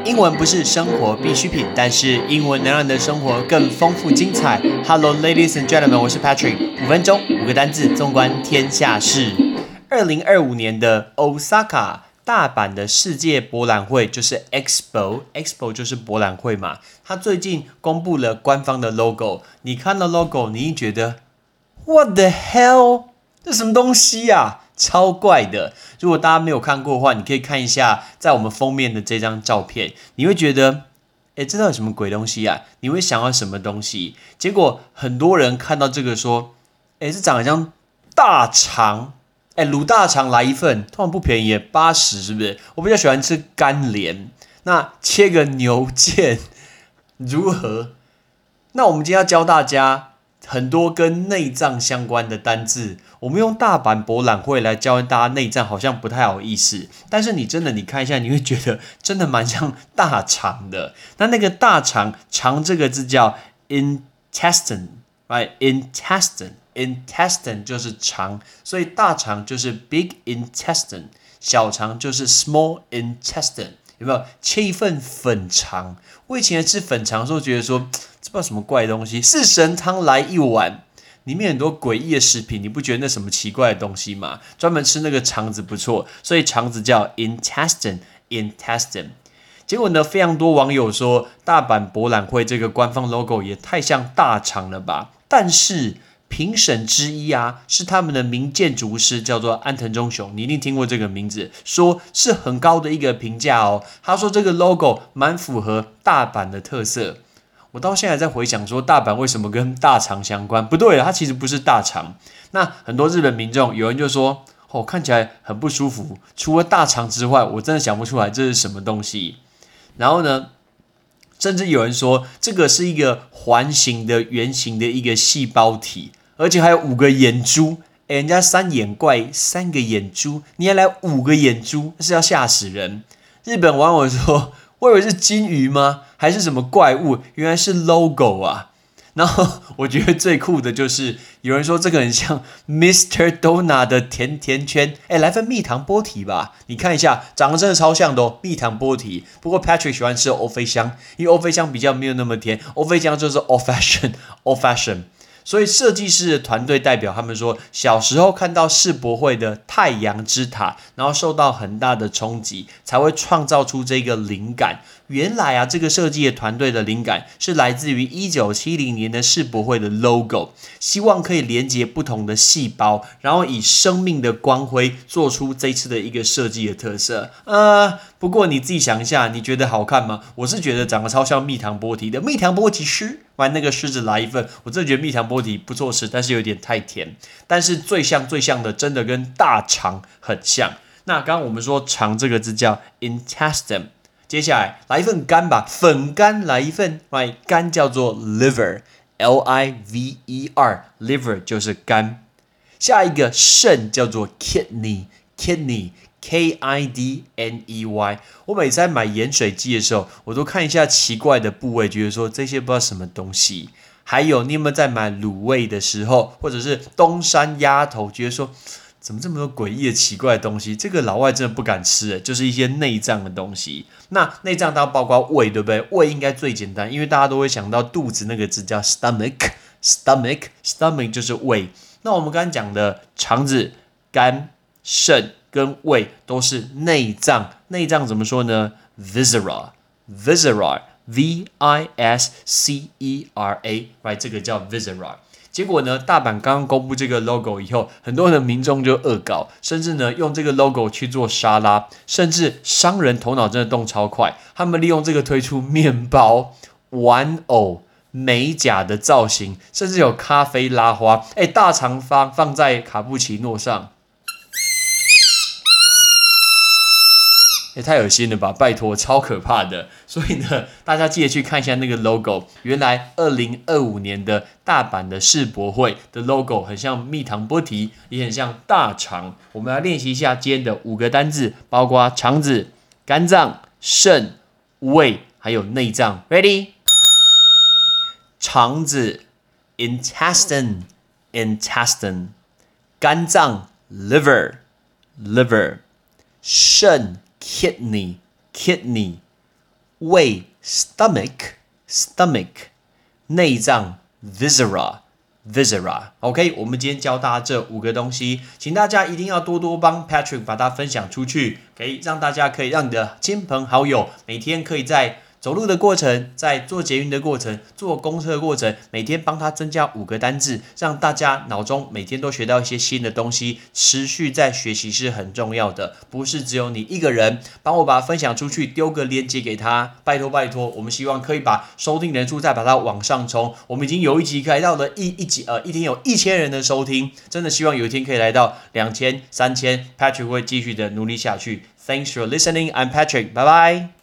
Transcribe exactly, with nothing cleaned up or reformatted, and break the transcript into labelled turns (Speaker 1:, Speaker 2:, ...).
Speaker 1: 英文不是生活必需品，但是英文能让你的生活更丰富精彩。Hello, ladies and gentlemen， 我是 Patrick。五分钟，五个单字，纵观天下事。二零二五年的 Osaka 大阪的世界博览会就是 Expo，Expo 就是博览会嘛。它最近公布了官方的 logo， 你看到 logo， 你一觉得 What the hell？ 这什么东西啊？超怪的！如果大家没有看过的话，你可以看一下在我们封面的这张照片，你会觉得，哎，这到底什么鬼东西啊？你会想要什么东西？结果很多人看到这个说，哎，这长得像大肠，哎，卤大肠来一份，通常不便宜，八十是不是？我比较喜欢吃干莲，那切个牛腱如何？那我们今天要教大家很多跟内脏相关的单字，我们用大阪博览会来教大家内脏，好像不太好意思。但是你真的你看一下，你会觉得真的蛮像大肠的。那那个大肠，肠这个字叫 intestine，right？ intestine，intestine 就是肠，所以大肠就是 big intestine， 小肠就是 small intestine。有没有切一份粉肠？我以前吃粉肠的时候，觉得说这不知道什么怪的东西，四神汤来一碗，里面很多诡异的食品，你不觉得那什么奇怪的东西吗？专门吃那个肠子不错，所以肠子叫 intestine，intestine。结果呢，非常多网友说大阪博览会这个官方 logo 也太像大肠了吧？但是评审之一啊，是他们的名建筑师，叫做安藤忠雄，你一定听过这个名字，说是很高的一个评价哦。他说这个 logo 蛮符合大阪的特色。我到现在在回想说，大阪为什么跟大肠相关？不对了，它其实不是大肠。那很多日本民众，有人就说，哦，看起来很不舒服。除了大肠之外，我真的想不出来这是什么东西。然后呢？甚至有人说，这个是一个环形的、圆形的一个细胞体，而且还有五个眼珠。诶，人家三眼怪，三个眼珠，你还来五个眼珠，是要吓死人。日本网友说，我以为是金鱼吗？还是什么怪物？原来是 logo 啊。然后我觉得最酷的就是有人说这个很像 Mister Donut 的甜甜圈，哎，来份蜜糖波提吧，你看一下，长得真的超像的哦，蜜糖波提。不过 Patrick 喜欢吃欧菲香，因为欧菲香比较没有那么甜，欧菲香就是 old fashion old fashion。所以设计师的团队代表他们说，小时候看到世博会的太阳之塔，然后受到很大的冲击，才会创造出这个灵感。原来啊，这个设计的团队的灵感是来自于一九七零年的世博会的 logo， 希望可以连接不同的细胞，然后以生命的光辉做出这次的一个设计的特色。呃，不过你自己想一下，你觉得好看吗？我是觉得长得超像蜜糖波提的，蜜糖波提狮，玩那个狮子来一份，我真的觉得蜜糖波提不错吃，但是有点太甜。但是最像最像的，真的跟大肠很像。那刚刚我们说肠这个字叫 intestine。接下来来一份肝吧，粉肝来一份， right？ 肝叫做 liver，L I V E R，liver 就是肝。下一个肾叫做 kidney，kidney，K I D N E Y。我每次在买盐水鸡的时候，我都看一下奇怪的部位，觉得说这些不知道什么东西。还有你有没有在买卤味的时候，或者是东山鸭头，觉得说怎么这么多诡异的奇怪的东西？这个老外真的不敢吃，就是一些内脏的东西。那内脏当然包括胃，对不对？胃应该最简单，因为大家都会想到肚子那个字叫 stomach，stomach，stomach 就是胃。那我们刚刚讲的肠子、肝、肾跟胃都是内脏，内脏怎么说呢 ？viscera，viscera，V I S C E R A，right， 这个叫 viscera。结果呢，大阪刚刚公布这个 logo 以后，很多的民众就恶搞，甚至呢用这个 logo 去做沙拉，甚至商人头脑真的动超快，他们利用这个推出面包、玩偶、美甲的造型，甚至有咖啡拉花，哎，大肠放放在卡布奇诺上。也太恶心了吧！拜托，超可怕的。所以呢，大家记得去看一下那个 logo。原来二零二五年的大阪的世博会的 logo 很像蜜糖波提，也很像大肠。我们来练习一下今天的五个单字，包括肠子、肝脏、肾、胃，还有内脏。Ready？ 肠子 intestine，intestine。肝脏 liver，liver。肾 kidney，kidney。 胃 stomach stomach 内脏 viscera viscera OK 我们今天教大家这五个东西，请大家一定要多多帮 Patrick 把它分享出去，可以让大家可以让你的亲朋好友每天可以在走路的过程，在做捷运的过程，坐公车的过程，每天帮他增加五个单字，让大家脑中每天都学到一些新的东西，持续在学习是很重要的，不是只有你一个人，帮我把它分享出去，丢个链接给他，拜托拜托，我们希望可以把收听人数再把它往上冲，我们已经有一集来到了一一集呃一天有一千人的收听，真的希望有一天可以来到两千、三千 ，Patrick 会继续的努力下去。Thanks for listening, I'm Patrick, bye bye.